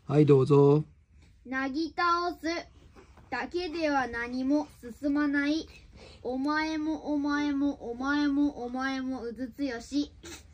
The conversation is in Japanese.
はい、どうぞ。 なぎ倒すだけでは何も進まない。お前もお前もお前もお前もうずつよし。